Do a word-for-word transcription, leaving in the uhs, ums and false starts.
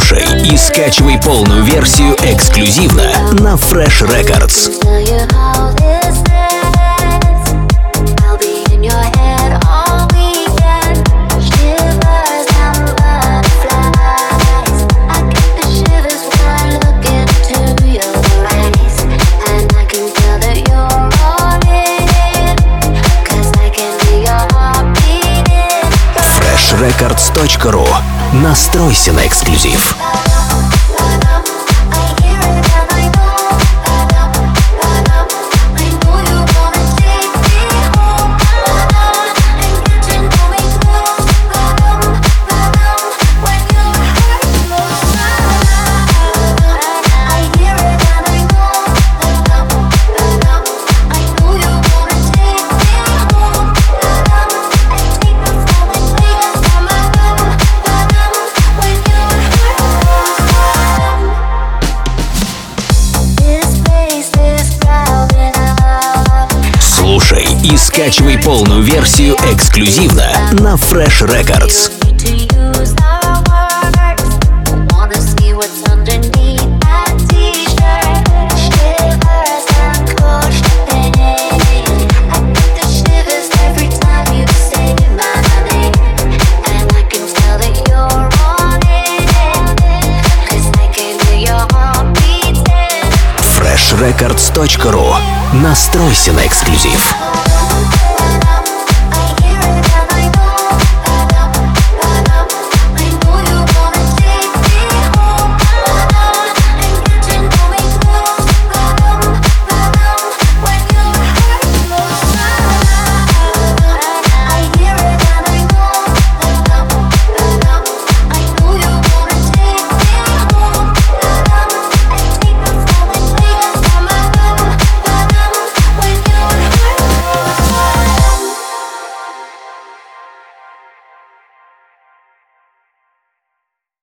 Слушай и скачивай полную версию эксклюзивно на Fresh Records. фреш рекордс точка ру. Настройся на эксклюзив. Слушай и скачивай полную версию эксклюзивно на Fresh Records. фреш рекордс точка ру. Настройся на эксклюзив.